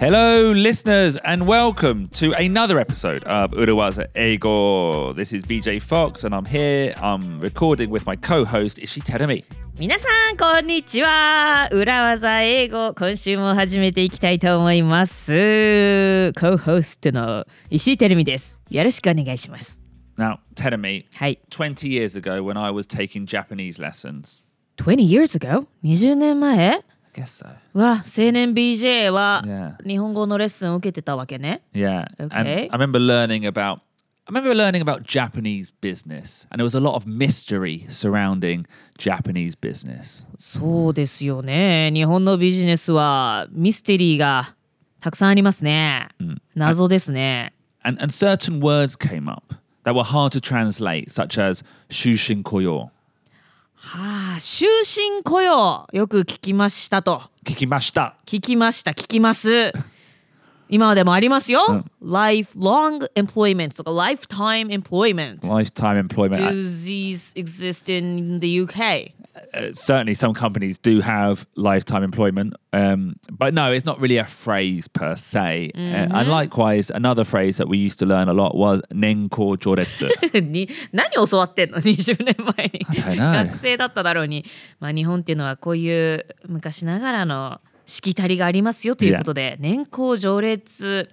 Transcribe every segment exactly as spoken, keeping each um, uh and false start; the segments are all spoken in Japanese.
Hello, listeners, and welcome to another episode of Urawaza Eigo. This is B J Fox, and I'm here. I'm recording with my co-host, Ishii Terumi. 皆さんこんにちは。裏技英語、今週も始めていきたいと思います。Co-host の石井てるみです。よろしくお願いします。 Now, Terumi, はい。 twenty years ago when I was taking Japanese lessons. twenty years ago? にじゅうねんまえ I guess so. わ、青年 ビージェー は Yeah. 日本語のレッスンを受けてたわけね。 Yeah. Okay. And I remember learning about I remember learning about Japanese business, and there was a lot of mystery surrounding Japanese business. そうですよね。日本のビジネスはミステリーがたくさんありますね。謎ですね。 And, and certain words came up that were hard to translate, such as 終身雇用。 はあ、終身雇用よく聞きましたと。 聞きました。 聞きました、聞きます。今でもありますよ。うん、lifelong employment とか lifetime employment. Lifetime employment. Do these exist in the U K? Uh, certainly some companies do have lifetime employment, um, but no, it's not really a phrase per se. Mm-hmm. Uh, and likewise, another phrase that we used to learn a lot was 年功序列。 に何を教わってんのにじゅうねんまえに。 I don't know. 学生だっただろうに。まあ日本っていうのはこういう昔ながらのしきたりがありますよということで、yeah. 年功序列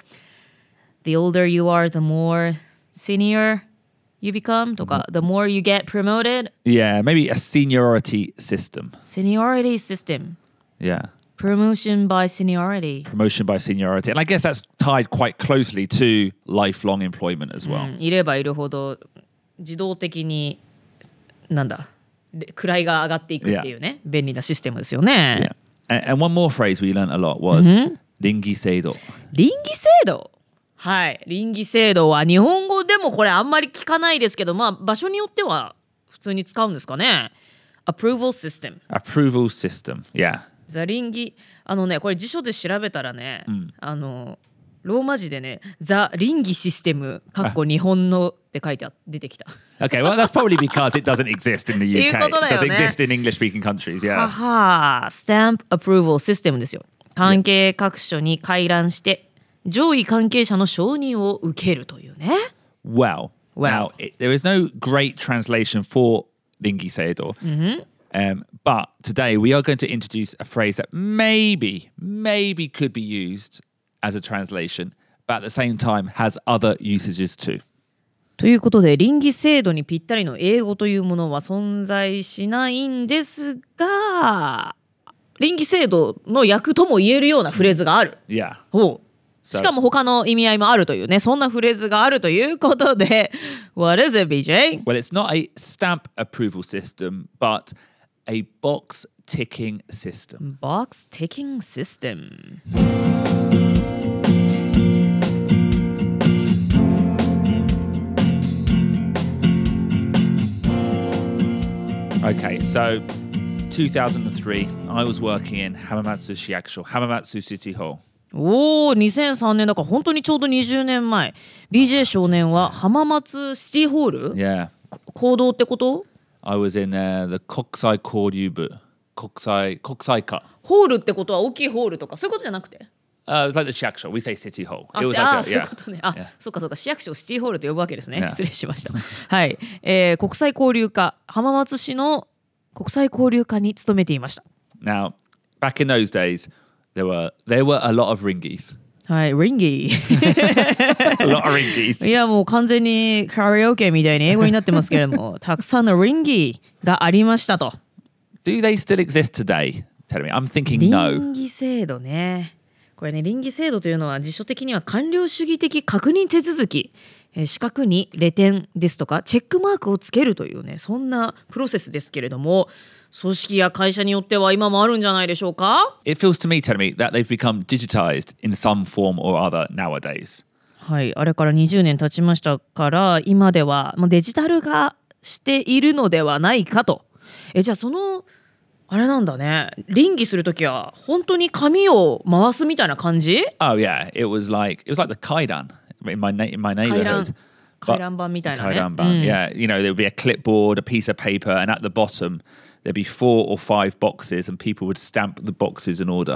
The older you are, the more senior you become とか The more you get promoted. Yeah, maybe a seniority system. Seniority system. Yeah. Promotion by seniority. Promotion by seniority. And I guess that's tied quite closely to lifelong employment as well. うん、いればいるほど自動的になんだ位が上がっていくっていうね、yeah. 便利なシステムですよね。 Yeah.And, and one more phrase we learned a lot was、mm-hmm. 臨議制度。 臨議制度はい。臨議制度は日本語でもこれあんまり聞かないですけど、まあ場所によっては普通に使うんですかね。Approval system. Approval system. Yeah. ザ臨議あのねこれ辞書で調べたらね、うん、あのローマ字でねザ臨議システムかっこ日本のって書いてあ出てきた。 Okay, well that's probably because it doesn't exist in the U K. It doesn't exist in English-speaking countries. Yeah. はは、stamp approval system ですよ。関係各所に回覧して上位関係者の承認を受けるというね。 Well, well. Now it, there is no great translation for 臨議制度. Mm-hmm. Um, but today we are going to introduce a phrase that maybe, maybe could be used as a translation, but at the same time has other usages too. ということで臨議制度にぴったりの英語というものは存在しないんですが、臨議制度の訳とも言えるようなフレーズがある。 Yeah. ほう。しかも他の意味合いもあるというね、そんなフレーズがあるということで、What is it, ビージェー? Well, it's not a stamp approval system, but a box ticking system. Box ticking system. Okay, so two thousand three, I was working in Hamamatsu Shiyakusho, Hamamatsu City Hall. おー、にせんさんねんだから本当にちょうどにじゅうねんまえ。ビージェー 少年は浜松シティホール Yeah. 行動ってこと I was in、uh, the 国際交流部。国際、国際課。 ホールってことは大きいホールとかそういうことじゃなくて Uh, it was like the 市役所. We say city hall. あ、 it was like あ a, そういうことね。あ、 yeah. そうかそうか。市役所をシティホールと呼ぶわけですね。 Yeah. 失礼しました。はい、えー。国際交流課浜松市の国際交流課に勤めていました。 Now, back in those days, there were there were a lot of ringies. はい、リンギー。 a lot of ringies. いやもう完全にカラオケみたいに英語になってますけれども、たくさんのリンギーがありましたと。 Do they still exist today? Tell me. I'm thinking no. 臨議制度ね。これね、臨議制度というのは辞書的には官僚主義的確認手続き、えー、資格にレ点ですとかチェックマークをつけるというね、そんなプロセスですけれども、組織や会社によっては今もあるんじゃないでしょうか。 It feels to me, tell me, that they've become digitized in some form or other nowadays. はい、あれからにじゅうねん経ちましたから、今ではもうデジタル化しているのではないかと。え、じゃあそのあれなんだね。臨議するときは本当に紙を回すみたいな感じ？ Oh yeah, it was like it was like the kaidan in my in my neighborhood. 回覧板みたいなね。 回覧板、うん、yeah. You know, there would be a clipboard, a piece of paper, and at the bottom there'd be four or five boxes, and people would stamp the boxes in order.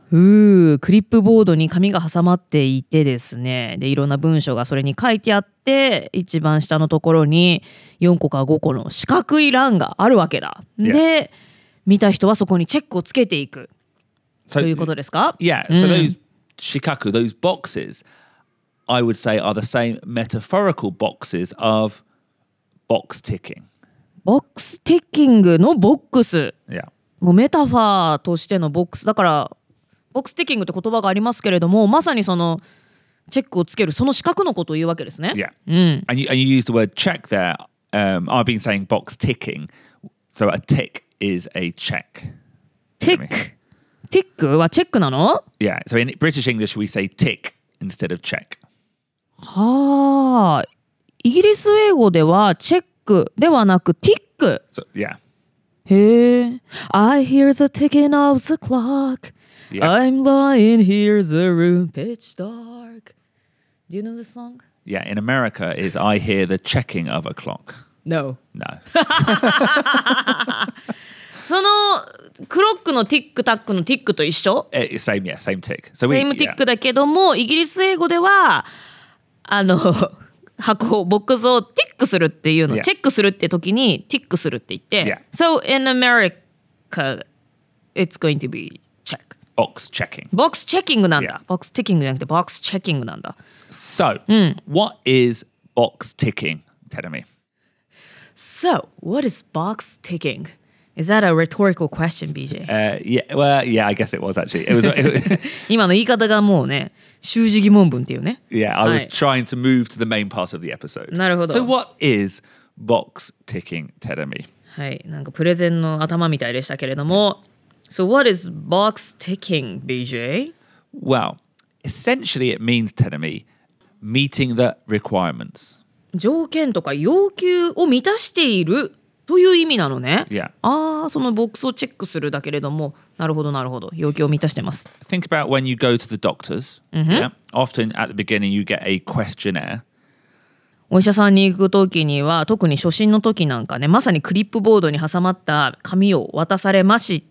うークリップボードに紙が挟まっていてですね、でいろんな文章がそれに書いてあって、一番下のところによんこかごこの四角い欄があるわけだ。 Yeah. で見た人はそこにチェックをつけていく So, ということですか？ yeah, so those shikaku, those boxes, I would say are the same metaphorical boxes of box ticking. ボックスティッキングのボックス、 Yeah. もうメタファーとしてのボックスだから、ボックスティッキングって言葉がありますけれども、まさにそのチェックをつけるその四角のことを言うわけですね。 Yeah. うん、 And you, and you use the word check there. Um, I've been saying box ticking. So a tick is a check. ティックティックはチェックなの？ Yeah. So in British English, we say tick instead of check. はあ、イギリス英語ではチェックではなくティック。 So yeah. へえ。I hear the ticking of the clock. Yeah. I'm lying here, the room pitch dark. Do you know this song? Yeah. In America, is I hear the checking of a clock. No. No. そのクロックのティックタックのティックと一緒？ Eh, same. Yeah. Same tick. So セ we. イムティ Yeah. ックだけども、イギリス英語ではあの箱ボックスをティックするっていうの、 Yeah. チェックするって時にティックするって言って、 Yeah. So in America it's going to be check. Box checking. ボックスチェッキングなんだ。 Yeah. ボックスティッキングじゃなくてボックスチェッキングなんだ。 So, what is box ticking? Tell me. So what is box ticking? Is that a rhetorical question, ビージェー? Uh, yeah. Well, yeah. I guess it was actually. It was. It was 今の言い方がもうね、習字疑問文っていうね。 yeah. I was はい。 trying to move to the main part of the episode. なるほど。 So, what is box ticking? Tell me. はい、なんかプレゼンの頭みたいでしたけれども。So what is box ticking, ビージェー? Well, essentially, it means, tell me, meeting the requirements. 条件とか要求を満たしているという意味なのね。 Yeah. ああ、そのボックスをチェックするだけれども、なるほどなるほど、要求を満たしてます。 Think about when you go to the doctors. Yeah. Often at the beginning, you get a questionnaire. お医者さんに行く時には、特に初診の時なんかね、まさにクリップボードに挟まった紙を渡されまして、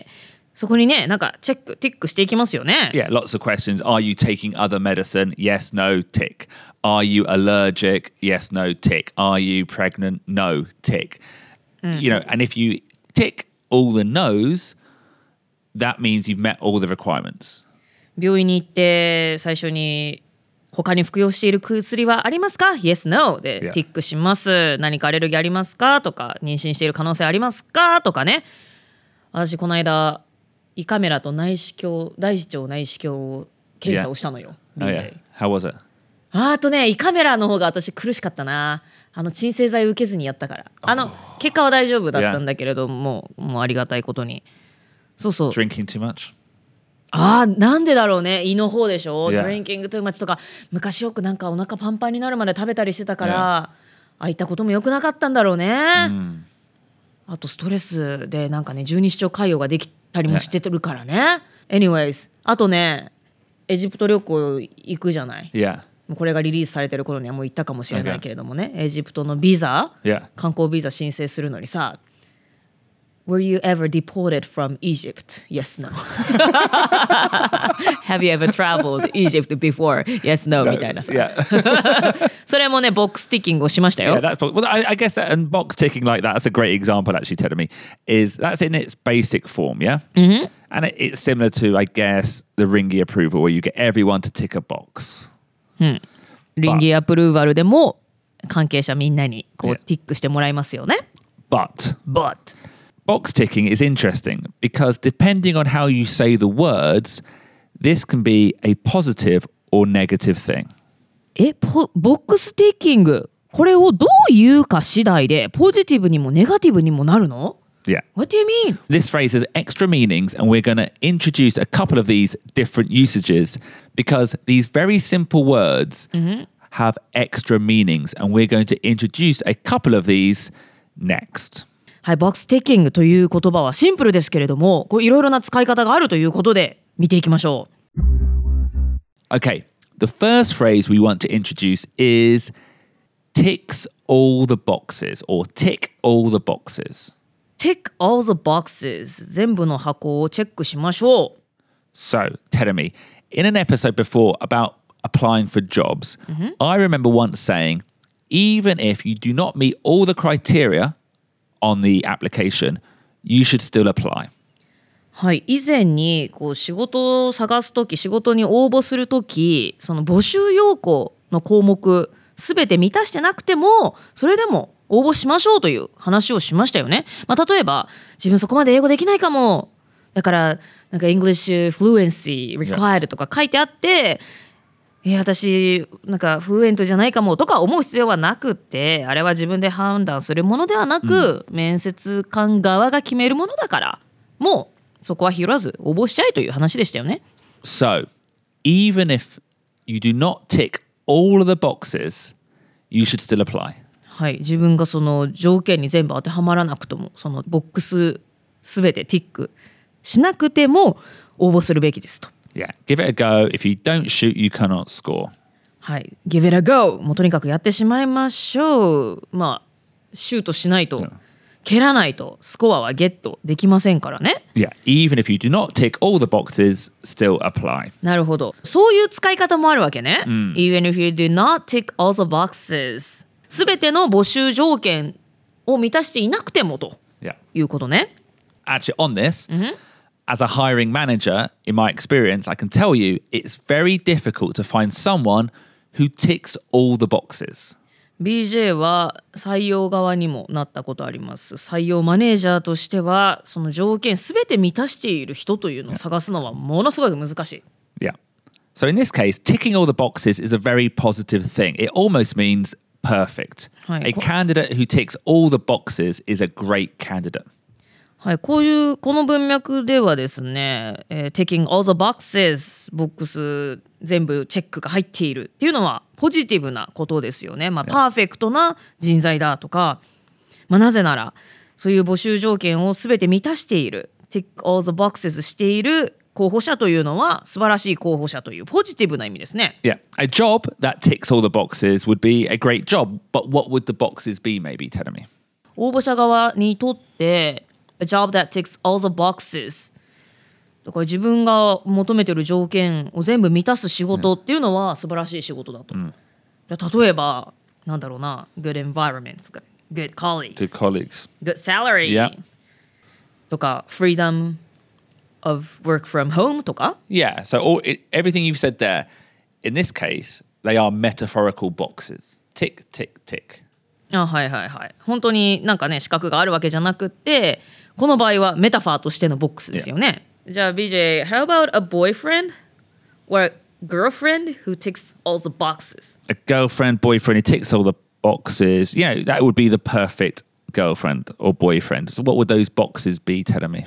そこにね、なんかチェック、ティックしていきますよね。 Yeah, lots of questions. Are you taking other medicine? Yes, no, tick. Are you allergic? Yes, no, tick. Are you pregnant? No, tick. You know, and if you tick all the no's, that means you've met all the requirements. 病院に行って最初に他に服用している薬はありますか？ Yes, no で Yeah. ティックします。何かアレルギーありますか？とか、妊娠している可能性ありますか？とかね。私この間胃カメラと内視鏡、大視腸内視鏡検査をしたのよ。 Oh, yeah. How was it? あとね、胃カメラの方が私苦しかったな。あの鎮静剤受けずにやったから。あの結果は大丈夫だったんだけれども、もうありがたいことに。そうそう。 Drinking too much? あー、なんでだろうね。胃の方でしょ。 Yeah. ドリンキングトゥーマッチとか、昔よくなんかお腹パンパンになるまで食べたりしてたから、 Yeah. ああいったことも良くなかったんだろうね。 Mm. あとストレスでなんかね、十二指腸潰瘍ができたりもしてるからね。Anyways、あとね、エジプト旅行行くじゃない。 Yeah. これがリリースされてる頃にはもう行ったかもしれないけれどもね、エジプトのビザ、 Yeah. 観光ビザ申請するのにさ、Were you ever deported from Egypt? Yes, no. Have you ever traveled Egypt before? Yes, no. みたいなさ。 Yeah. それもね、ボックスティッキングをしましたよ。 Yeah, that's well. I, I guess that and box ticking like that. That's a great example, actually. Telling me is that's in its basic form, yeah. Mm-hmm. And it, it's similar to, I guess, the Ringy approval, where you get everyone to tick a box. リンギーアプルーバルでも関係者みんなにこう Yeah. ティックしてもらいますよね。 But But box ticking is interesting because depending on how you say the words, this can be a positive or negative thing. え、ポボックスティッキング、これをどう言うか次第でポジティブにもネガティブにもなるの？ Yeah. What do you mean? This phrase has extra meanings, and we're going to introduce a couple of these different usages because these very simple words have extra meanings, and we're going to introduce a couple of these next. はい、ボックスティッキングという言葉はシンプルですけれども、こういろいろな使い方があるということで見ていきましょう。 Okay, the first phrase we want to introduce is ticks all the boxes or tick all the boxes. Tick all the boxes 全部の箱をチェックしましょう。 So, Terumi, in an episode before about applying for jobs, I remember once saying, even if you do not meet all the criteria on the application, you should still apply. はい、以前にこう仕事を探すとき、仕事に応募するとき、その募集要項の項目すべて満たしてなくても、それでも応募しましょうという話をしましたよね。まあ、例えば自分そこまで英語できないかも、だからなんか English fluency required とか書いてあって、いや私なんかフルエントじゃないかもとか思う必要はなくって、あれは自分で判断するものではなく、うん、面接官側が決めるものだから、もうそこは拾わず応募しちゃえという話でしたよね。 So, even if you do not tick all of the boxes, you should still apply. はい、自分がその条件に全部当てはまらなくとも、そのボックスすべてティックしなくても応募するべきですと。 Yeah, give it a go. If you don't shoot, you cannot score. はい、give it a go. もうとにかくやってしまいましょう。まあシュートしないと、yeah. 蹴らないとスコアはゲットできませんからね。 Yeah, even if you do not tick all the boxes, still apply. なるほど。そういう使い方もあるわけね。うん、even if you do not tick all the boxes. すべての募集条件を満たしていなくてもと、yeah. いうことね。 Actually, on this,、mm-hmm.As a hiring manager, in my experience, I can tell you it's very difficult to find someone who ticks all the boxes. ビージェー は採用側にもなったことあります。採用マネージャーとしては、その条件すべて満たしている人というのを探すのはものすごい難しい。 Yeah. So in this case, ticking all the boxes is a very positive thing. It almost means perfect. はい、A candidate who ticks all the boxes is a great candidate. はい、こういうこの文脈ではですね、えー、taking all the boxes ボックス全部チェックが入っているっていうのはポジティブなことですよね。まあ、パーフェクトな人材だとか、まあ、なぜならそういう募集条件を全て満たしている tick all the boxes している候補者というのは素晴らしい候補者というポジティブな意味ですね。 Yeah, a job that ticks all the boxes would be a great job, but what would the boxes be, maybe, Terumi? 応募者側にとってA job that ticks all the boxes だから自分が求めている条件を全部満たす仕事っていうのは素晴らしい仕事だと、うん、じゃ例えばなんだろうな good environment good colleagues good colleagues good salary、yeah. とか freedom of work from home とか Yeah, so all, it, everything you've said there in this case they are metaphorical boxes tick tick tick あ、はいはいはい。本当になんかね資格があるわけじゃなくってこの場合はメタファーとしてのボックスですよね。Yeah. じゃあ ビージェー how about a boyfriend or a girlfriend who ticks all the boxes? A girlfriend, boyfriend who ticks all the boxes. Yeah, that would be the perfect girlfriend or boyfriend. So what would those boxes be, Terumi?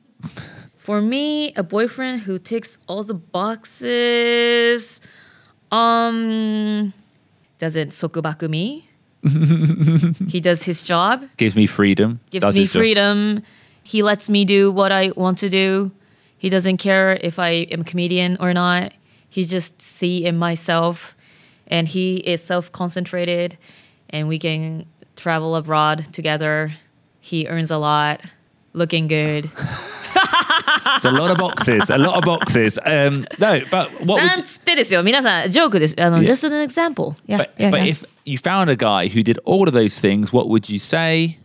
For me, a boyfriend who ticks all the boxes um doesn't 束縛 me. He does his job. Gives me freedom. Gives does me freedom. He lets me do what I want to do. He doesn't care if I am a comedian or not. He just see in myself. And he is self-concentrated. And we can travel abroad together. He earns a lot. Looking good. It's a lot of boxes. A lot of boxes. Um, no, but what なんつってですよ。皆さん、ジョークです。あの、yeah. Just an example. Yeah, but, yeah, but yeah. if you found a guy who did all of those things, what would you say?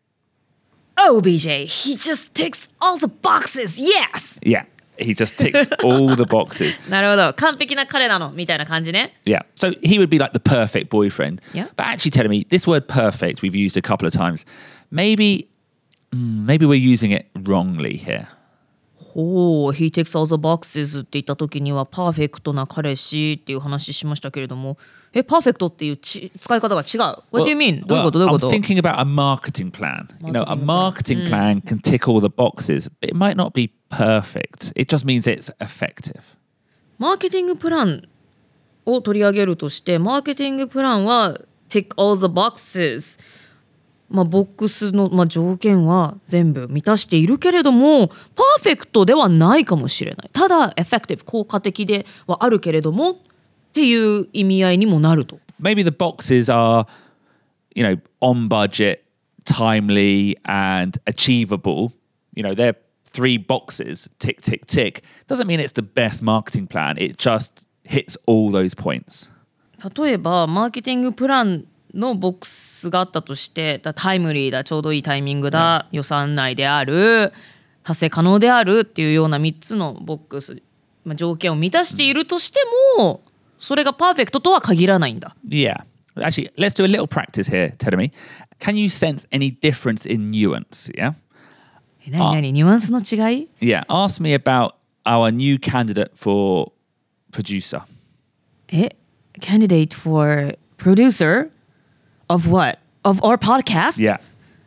Oh, B J, he just ticks all the boxes. Yes! Yeah, he just ticks all the boxes. なるほど。完璧な彼なのみたいな感じね。 Yeah, so he would be like the perfect boyfriend. Yeah. But actually, telling me, this word perfect we've used a couple of times. Maybe, maybe we're using it wrongly here. ほう、he ticks all the boxes って言った時にはパーフェクトな彼氏っていう話しましたけれども、え、パーフェクトっていうち使い方が違う。What do you mean? どういうことどういうこと I'm thinking about a marketing plan. You know, a marketing plan can tick all the boxes, but it might not be perfect. It just means it's effective. マーケティングプランを取り上げるとして、マーケティングプランは tick all the boxes。まあ、ボックスの、まあ、条件は全部満たしているけれどもパーフェクトではないかもしれない。ただエフェクティブ効果的ではあるけれどもっていう意味合いにもなると。 Maybe the boxes are, you know, on budget, timely and achievable. You know, they're three boxes, tick, tick, tick, doesn't mean it's the best marketing plan. It just hits all those points. 例えばマーケティングプランのボックスがあったとして、だタイムリーだ、ちょうどいいタイミングだ、予算内である、達成可能であるっていうようなみっつのボックス、まあ、条件を満たしているとしても、それがパーフェクトとは限らないんだ。 Yeah. Actually, let's do a little practice here, Terumi. Can you sense any difference in nuance? Yeah? え、何何ニュアンスの違い Yeah. Ask me about our new candidate for producer. え Candidate for producer of what? Of our podcast? Yeah.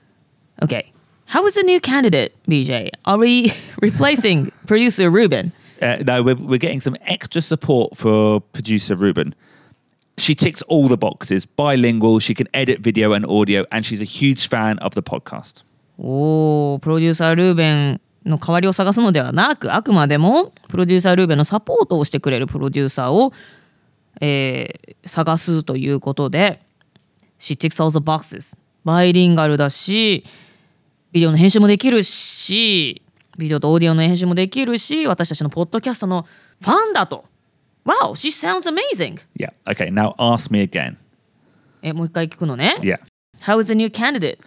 Okay. How is the new candidate, B J? Are we replacing producer Ruben? Uh, no, we're, we're getting some extra support for producer Ruben. She ticks all the boxes. Bilingual, she can edit video and audio, and she's a huge fan of the podcast. おー、プロデューサールーベンの代わりを探すのではなく、あくまでもプロデューサールーベンのサポートをしてくれるプロデューサーを、えー探すということで、She ticks all the boxes. バイリンガルだし、ビデオの編集もできるし、ビデオとオーディオの編集もできるし、私たちのポッドキャストのファンだと。Wow, she sounds amazing. Yeah. Okay, now ask me again. え、もう一回聞くのね。 Yeah. How is the new candidate?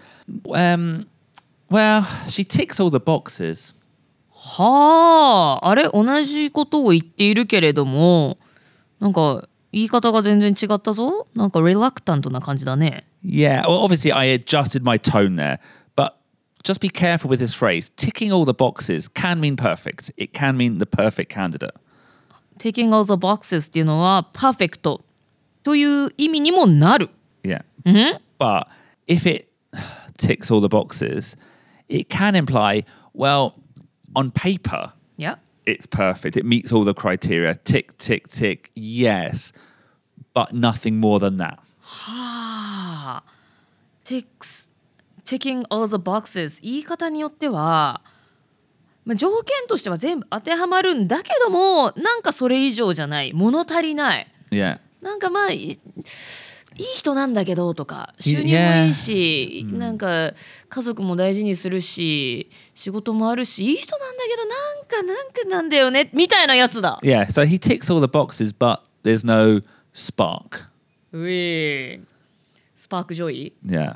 Um, well, she ticks all the boxes. はあ、あれ同じことを言っているけれども、なんか言い方が全然違ったぞ。なんか reluctant な感じだね。 Yeah, well, obviously I adjusted my tone there, but just be careful with this phrase. Ticking all the boxes can mean perfect. It can mean the perfect candidate. Taking all the boxes っていうのは perfect という意味にもなる。 Yeah. Mm-hmm. But if it ticks all the boxes, it can imply, well, on paper, Yeah. it's perfect. It meets all the criteria. Tick, tick, tick. Yes. But nothing more than that. はあ。Ticks, ticking all the boxes 言い方によっては、まあ、条件としては全部当てはまるんだけども、なんかそれ以上じゃない、物足りない。 Yeah. なんかまあいいいい人なんだけどとか、収入も Yeah. いいし、なんか家族も大事にするし、仕事もあるし、いい人なんだけどなんかなんかなんだよねみたいなやつだ。 Yeah. So he ticks all the boxes, but there's no spark. うえスパークジョイ Yeah.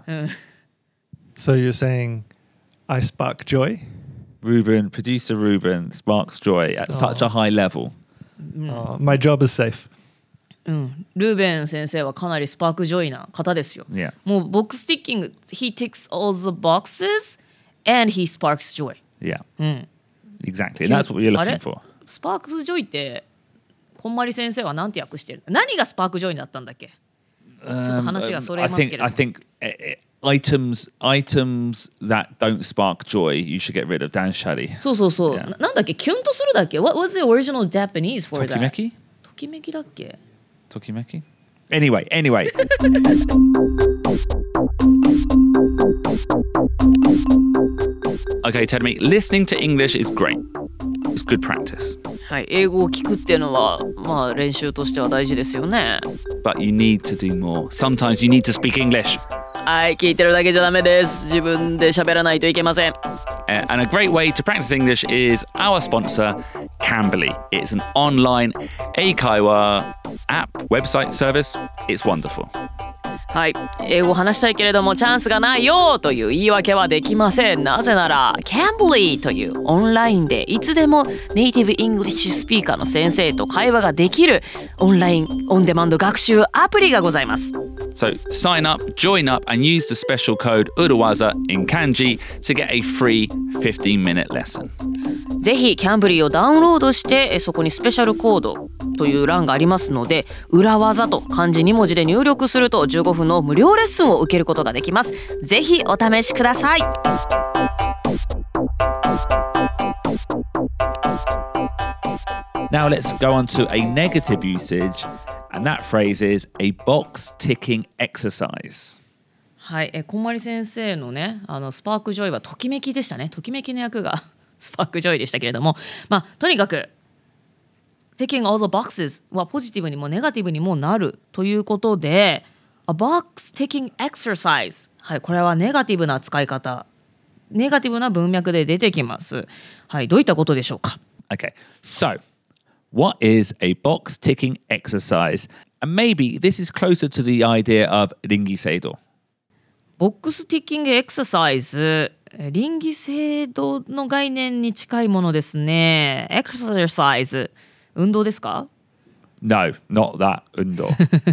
So you're saying I spark joy? Ruben, producer Ruben, sparks joy at such a high level. Uh, my job is safe. うん、ルーベン先生はかなりスパークジョイな方ですよ。 Yeah. もうボックスティッキング He ticks all the boxes and he sparks joy. Yeah. うん、 Exactly. And that's what you're あれ looking for. スパークスジョイってこんまり先生は何て訳してる？何がスパークジョイだったんだっけ？ ちょっと話がそれ I ますけ think れど I think uh, items items that don't spark joy you should get rid of. Dan Shadi. そうそうそう、 Yeah. ななんだっけキュンとするだっけ What was the original Japanese for that? Tokimeki? ときめきだっけ Tokimeki? Anyway, anyway. Okay, tell me, listening to English is great. It's good practice. はい、英語を聞くっていうのはまあ練習としては大事ですよね。 But you need to do more. Sometimes you need to speak English. はい、聞いてるだけじゃダメです。自分で喋らないといけません。 Uh, and a great way to practice English is our sponsor, Cambly. It's an online eikaiwa app, website service. It's wonderful. はい、英語を話したいけれどもチャンスがないよという言い訳はできません。なぜなら Cambly というオンラインでいつでもネイティブイングリッシュスピーカーの先生と会話ができるオンラインオンデマンド学習アプリがございます。 So sign up, join up and use the special code Urawaza in kanji to get a free fifteen minute lesson. ぜひキャンブリーをダウンロードしてそこにスペシャルコードという欄がありますので、裏技と漢字に文字で入力するとじゅうごふんの無料レッスンを受けることができます。ぜひお試しください。 Now let's go on to a negative usage, and that phrase is a box ticking exercise. はい、えこんまり先生のね、あのスパークジョイはときめきでしたね。ときめきの役がスパークジョイでしたけれども、まあとにかく Ticking all the boxes はポジティブにもネガティブにもなるということで、A box ticking exercise、はい、これはネガティブな使い方ネガティブな文脈で出てきます。はい、どういったことでしょうか。 Okay, so what is a box ticking exercise? And maybe this is closer to the idea of ringiseido. ボックスティッキングエクササイズ、臨機制度の概念に近いものですね。エクササイズ、運動ですか？ No, not that undo.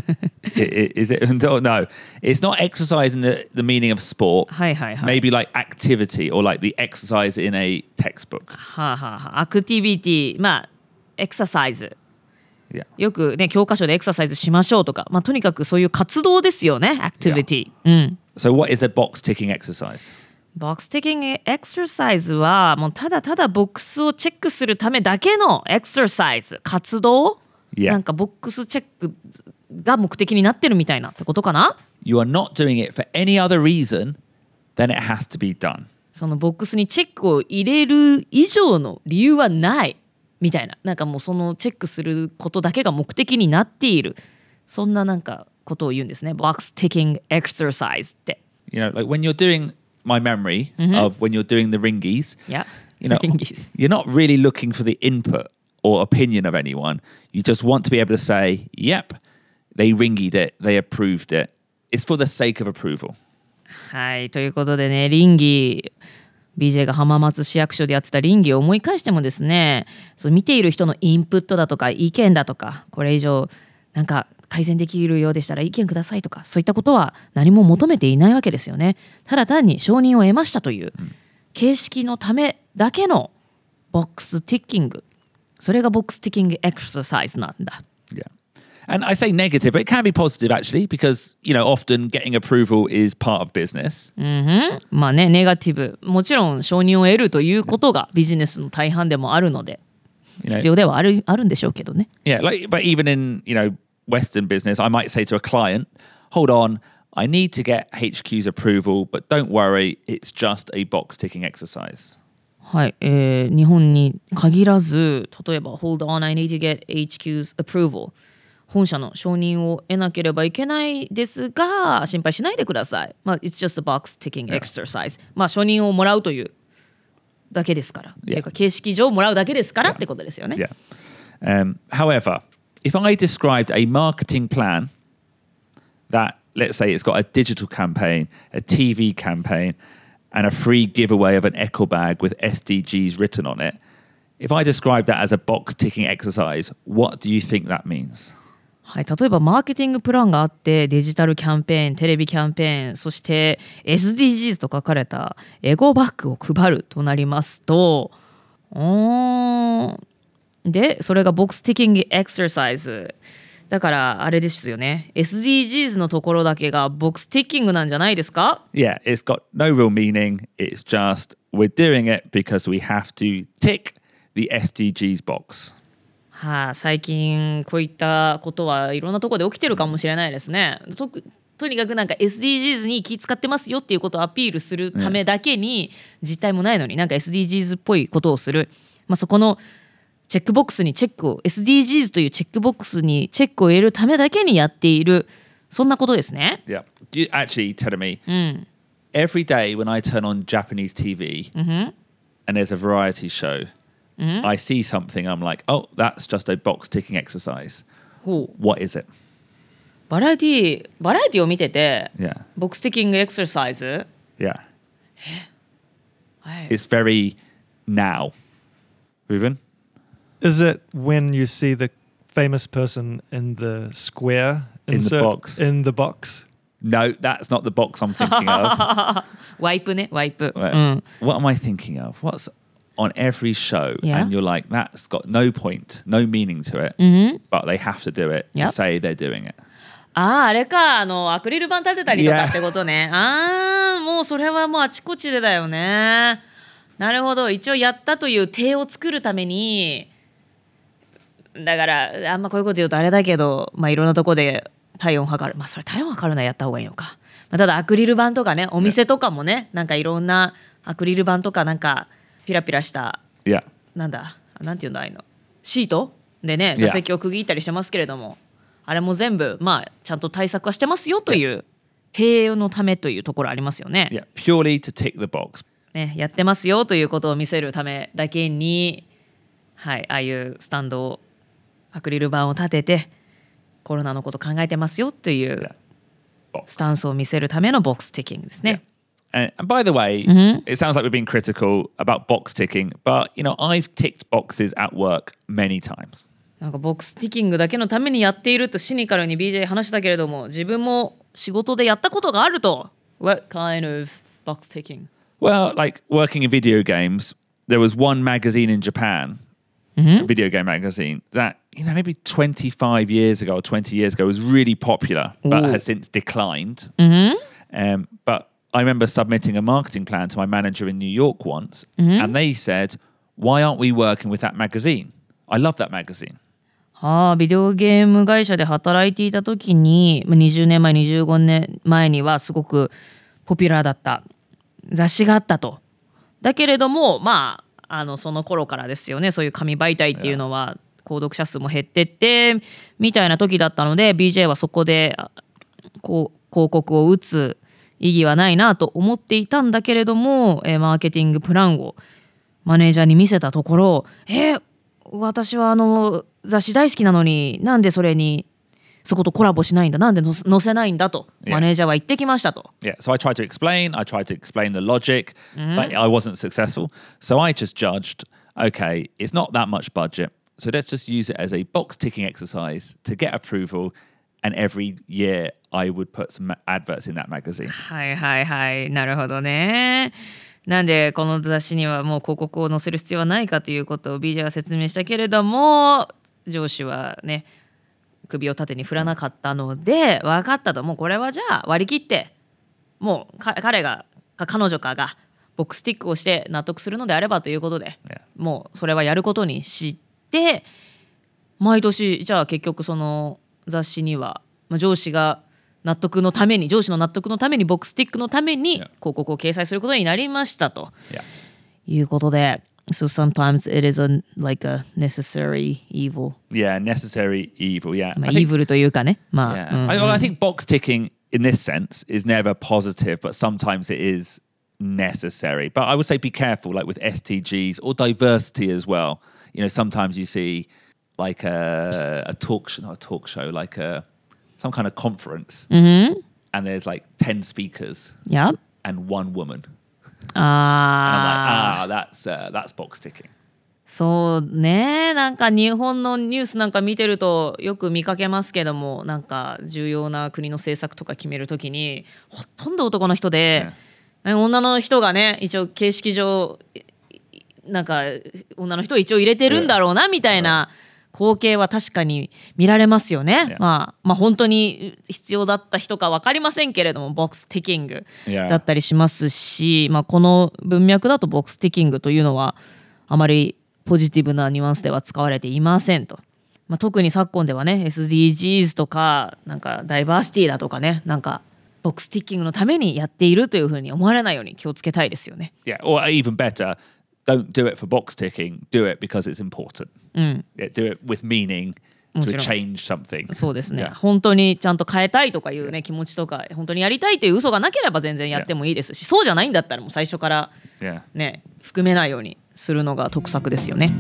Is it undo? No, it's not exercise in the, the meaning of sport. はいはいはい。 Maybe like activity or like the exercise in a textbook. はあはあはあ、アクティビティ、まあエクササイズ。 Yeah. よくね教科書でエクササイズしましょうとか、まあとにかくそういう活動ですよね。アクティビティ。うん。 So what is a box ticking exercise? ボックスティッキングエクササイズはもうただただボックスをチェックするためだけのエクササイズ、活動、 Yeah. なんかボックスチェックが目的になってるみたいなってことかな。 You are not doing it for any other reason than it has to be done. そのボックスにチェックを入れる以上の理由はないみたいな、なんかもうそのチェックすることだけが目的になっている、そんななんかことを言うんですね。ボックスティッキングエクササイズって。 You know, like when you're doing my memory of when you're doing the ringies, Yeah. you know, Ringies. you're not really looking for the input or opinion of anyone. You just want to be able to say, yep, they ringied it, they approved it. It's for the sake of approval. はい、ということでね、倫理 ビージェー が浜松市役所でやってた倫理を思い返してもですね、そう見ている人のインプットだとか意見だとか、これ以上なんか改善できるようでしたら意見くださいとか、そういったことは何も求めていないわけですよね。ただ単に承認を得ましたという形式のためだけのボックスティッキング、それがボックスティッキングエクササイズなんだ。 Yeah. And I say negative, but it can be positive actually, because, you know, often getting approval is part of business. うん、まあね、ネガティブ、もちろん承認を得るということがビジネスの大半でもあるので、必要ではある、あるんでしょうけどね。 Yeah, like, but even in, you know, Western business, I might say to a client, hold on, I need to get H Q's approval, but don't worry, it's just a box ticking exercise. はい、えー、日本に限らず、例えば Hold on, I need to get H Q's approval、 本社の承認を得なければいけないですが心配しないでください。まあ It's just a box ticking exercise、 まあ承認をもらうというだけですから、 Yeah. というか形式上もらうだけですからってことですよね。 Yeah. Um, however, if I described a marketing plan that, let's say it's got a digital campaign, a T V campaign, and a free giveaway of an eco bag with S D Gs written on it, if I describe that as a box ticking exercise, what do you think that means? はい、例えばマーケティングプランがあってデジタルキャンペーン、テレビキャンペーン、そして エスディージーズ と書かれたエゴバッグを配るとなりますと、おーでそれがボックスティッキングエクササイズだからあれですよね。 エスディージーズ のところだけがボックスティッキングなんじゃないですか？ Yeah, it's got no real meaning. It's just we're doing it because we have to tick the S D Gs box. はあ、最近こういったことはいろんなところで起きてるかもしれないですね。と, とにかくなんか エスディージーズ に気使ってますよっていうことをアピールするためだけに、実態もないのになんか エスディージーズ っぽいことをする、まあ、そこのチェックボックスにチェックを エスディージーズ というチェックボックスにチェックを入れるためだけにやっている、そんなことですね。 Yeah. Do you actually tell me、 うん、 every day when I turn on Japanese T V、mm-hmm. and there's a variety show、mm-hmm. I see something, I'm like, oh, that's just a box ticking exercise. ほう What is it? バラエティバラエティを見てて、 Yeah. ボックスティッキングエクササイズ、 Yeah. はい、 It's very now. Ruben? Is it when you see the famous person in the square In the insert box. in the box? No, that's not the box I'm thinking of. ワイプね、ワイプ、 Wait, うん、 What am I thinking of? What's on every show? Yeah. And you're like, that's got no point, no meaning to it, mm-hmm. but they have to do it Yep. to say they're doing it. ああ、あれか、あのアクリル板立てたりとか Yeah. ってことね。ああ、もうそれはもうあちこちでだよね。なるほど、一応やったという体を作るために、だからあんまこういうこと言うとあれだけど、まあいろんなとこで体温測る、まあそれ体温測るのはやった方がいいのか。まあ、ただアクリル板とかね、お店とかもね、なんかいろんなアクリル板とかなんかピラピラした、 Yeah. なんだ、なんていうんだああいうの、シートでね、 Yeah. 座席を区切ったりしてますけれども、あれも全部まあちゃんと対策はしてますよという体のためというところありますよね。 Yeah. Purely to tick the box. ね、やってますよということを見せるためだけに、はい、ああいうスタンドをアクリル板を立ててコロナのこと考えてますよというスタンスを見せるためのボックスティッキングですね。 And by the way, mm-hmm. it sounds like we're being critical about box ticking, but you know, I've ticked boxes at work many times. なんかボックスティッキングだけのためにやっているとシニカルに ビージェー 話したけれども、自分も仕事でやったことがあると。What kind of box ticking? Well, like working in video games, there was one magazine in Japan, mm-hmm. a video game magazine, that, you know, maybe twenty-five years ago or twenty years ago was really popular, but Ooh. has since declined. Mm-hmm. Um, but I remember submitting a marketing plan to my manager in New York once, mm-hmm. and they said, why aren't we working with that magazine? I love that magazine. はあ、ビデオゲーム会社で働いていた時ににじゅうねんまえにじゅうごねんまえにはすごくポピュラーだった雑誌があったと。だけれどもまああのその頃からですよね、そういう紙媒体っていうのは購読者数も減ってってみたいな時だったので、 ビージェー はそこでこう広告を打つ意義はないなと思っていたんだけれども、えー、マーケティングプランをマネージャーに見せたところ、えー、私はあの雑誌大好きなのになんでそれにそことコラボしないんだ、なんで載せないんだとマネージャーは言ってきましたと。 Yeah, so I tried to explain, I tried to explain the logic, mm-hmm. but I wasn't successful. So I just judged, okay, it's not that much budget, so let's just use it as a box ticking exercise to get approval, and every year I would put some adverts in that magazine. はいはいはい、なるほどね。なんでこの雑誌にはもう広告を載せる必要はないかということを ビージェー は説明したけれども、上司はね首を縦に振らなかったので、分かったと、もうこれはじゃあ割り切ってもう彼がか彼女かがボックスティックをして納得するのであればということで、 yeah. もうそれはやることにして、毎年じゃあ結局その雑誌には上司が納得のために上司の納得のためにボックスティックのために広告を掲載することになりましたと、 yeah. いうことで、So sometimes it is a like a necessary evil. Yeah, necessary evil. Yeah, まあ evil というかね。まあ。 Yeah. うんうん、 I, well, I think box ticking in this sense is never positive, but sometimes it is necessary. But I would say be careful, like with S T Gs or diversity as well. You know, sometimes you see like a, a talk show, not a talk show, like a some kind of conference, mm-hmm. and there's like ten speakers, yeah, and one woman. あ I'm like, ah, that's uh, that's box ticking. そうね、なんか日本のニュースなんか見てるとよく見かけますけども、なんか重要な国の政策とか決めるときにほとんど男の人で、yeah. 女の人がね一応形式上なんか女の人を一応入れてるんだろうなみたいな光景は確かに見られますよね。Yeah. まあ、まあ本当に必要だった人か分かりませんけれども、ボックスティッキングだったりしますし、yeah. まあ、この文脈だとボックスティッキングというのはあまりポジティブなニュアンスでは使われていませんと。まあ、特に昨今ではね エスディージーズ とかなんかダイバーシティだとかね、なんかボックスティッキングのためにやっているというふうに思われないように気をつけたいですよね。 Yeah, or even better, don't do it for box ticking, do it because it's important. うん、 yeah, do it with meaning to change something. そうですね、 yeah. 本当にちゃんと変えたいとかいうね、yeah. 気持ちとか本当にやりたいという嘘がなければ全然やってもいいですし、yeah. そうじゃないんだったらもう最初からね、yeah. 含めないようにするのが得策ですよね。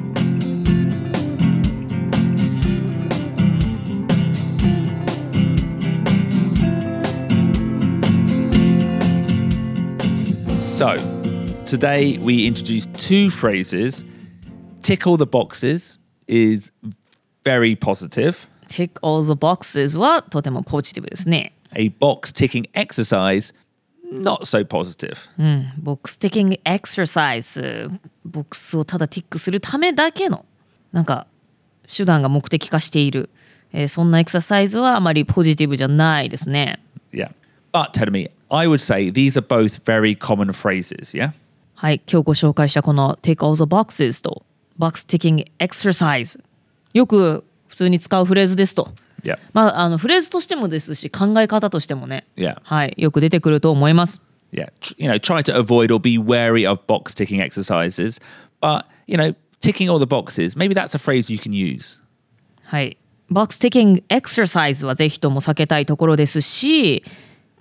So, today we introduce two phrases. Tick all the boxes is very positive. Tick all the boxes はとてもポジティブですね。 A box ticking exercise, not so positive. うん、ボックスティッキングエクササイズ、ボックスをただティックするためだけのなんか手段が目的化している、えー、そんなエクササイズはあまりポジティブじゃないですね。 Yeah, but tell me, I would say these are both very common phrases, yeah? はい、今日ご紹介したこの Tick all the boxes と Box ticking exercise、 よく普通に使うフレーズですと、 yeah. まあ、あのフレーズとしてもですし考え方としてもね、 yeah. はい、よく出てくると思います。 Yeah, you know, try to avoid or be wary of box ticking exercises, but, you know, ticking all the boxes, maybe that's a phrase you can use. はい、Box ticking exercise はぜひとも避けたいところですし、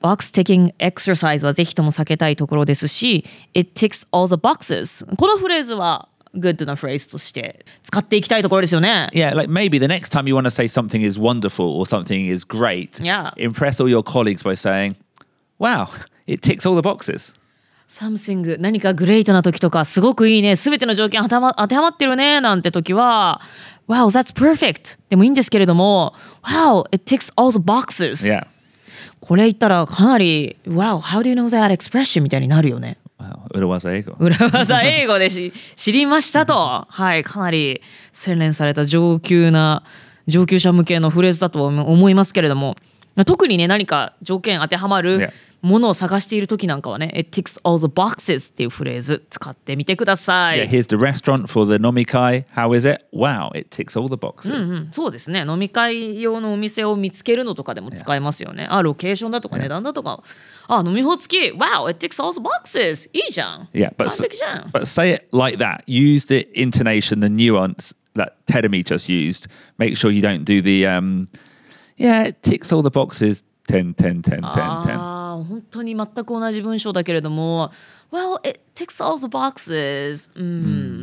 box ticking exercise はぜひとも避けたいところですし It ticks all the boxes このフレーズはグッドなフレーズとして使っていきたいところですよね。 Yeah, like maybe the next time you want to say something is wonderful or something is great, Yeah. impress all your colleagues by saying, wow, it ticks all the boxes. Something 何かグレートな時とかすごくいいねすべての条件当てはま、当てはまってるねなんて時は Wow, that's perfect でもいいんですけれども Wow, it ticks all the boxes Yeah. これ言ったらかなり Wow, how do you know that expression みたいになるよね。 Wow, 裏技英語。 裏技英語でし知りましたとはいかなり洗練された上級な上級者向けのフレーズだと思いますけれども特にね何か条件当てはまる、 Yeah. ものを探している時なんかはね It ticks all the boxes っていうフレーズ使ってみてください。 Yeah, here's the restaurant for the nomikai. How is it? Wow, it ticks all the boxes. うんうん、そうですね飲み会用のお店を見つけるのとかでも使えますよね。あロケーションだとか値段だとかあ飲み放付き Wow, it ticks all the boxes いいじゃん Yeah, but, 完璧じゃん but say it like that. Use the intonation, the nuance that Tedemi just used. Make sure you don't do the, um, yeah, it ticks all the boxes. ten, ten, ten, ten, ten. ああ本当に全く同じ文章だけれども Well, it ticks all the boxes うん、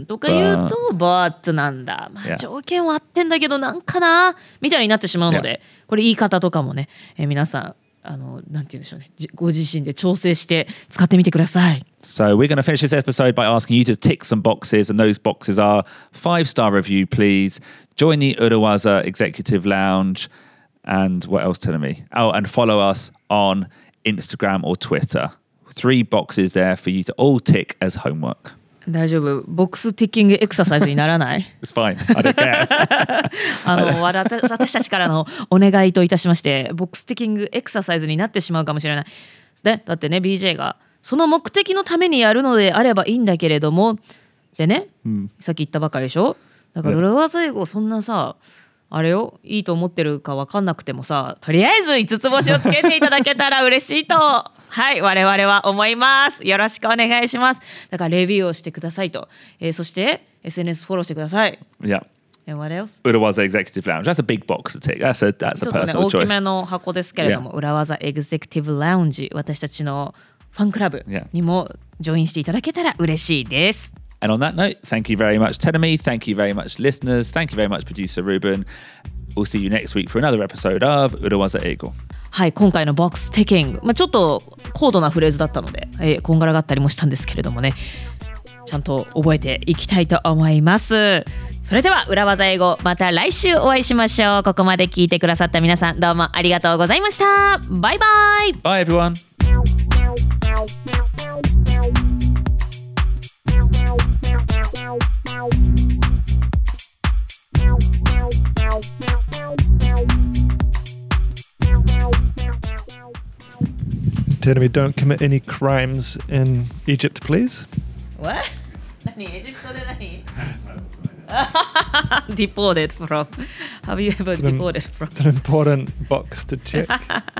とか言うと But なんだ、まあ、条件は合ってんだけどなんかなみたいになってしまうので、これ言い方とかもね、えー皆さんあのなんて言うんでしょうねご自身で調整して使ってみてください。 So we're going to finish this episode by asking you to tick some boxes, and those boxes are five-star review, please. Join the Urawaza Executive Lounge. And what else telling me? Oh, and follow us on Instagram or Twitter. Three boxes there for you to all tick as homework. 大丈夫ボックスティッキングエクササイズにならない It's fine. I don't care. あのわらた私たちからのお願いといたしましてボックスティッキングエクササイズになってしまうかもしれないですね。だってね ビージェー がその目的のためにやるのであればいいんだけれどもでね、うん、さっき言ったばかりでしょ。だから裏技英語そんなさあれよいいと思ってるか分かんなくてもさとりあえず五つ星をつけていただけたら嬉しいとはい我々は思います。よろしくお願いします。だからレビューをしてくださいと、えー、そして エスエヌエス フォローしてください。 Yeah. And what else? Urawaza Executive Lounge. That's a big box to tick. That's a, that's ち a ょっとね personal 大き choice. めの箱ですけれども、yeah. 裏技エグゼクティブラウンジ私たちのファンクラブにもジョインしていただけたら嬉しいです。 And on that note, thank you very much, Tedemi. Thank you very much, listeners. Thank you very much, producer Ruben. We'll see you next week for another episode of Urawaza Eigo. はい今回のボックスティッキング、まあ、ちょっと高度なフレーズだったので、えー、こんがらがったりもしたんですけれどもねちゃんと覚えていきたいと思います。それでは裏技英語また来週お会いしましょう。ここまで聞いてくださった皆さんどうもありがとうございました。バイバイ。 Bye everyone. Tedemi, don't commit any crimes in Egypt, please. What? 何エジプトで何Deported from. Have you ever It's an, deported from? It's an important box to check.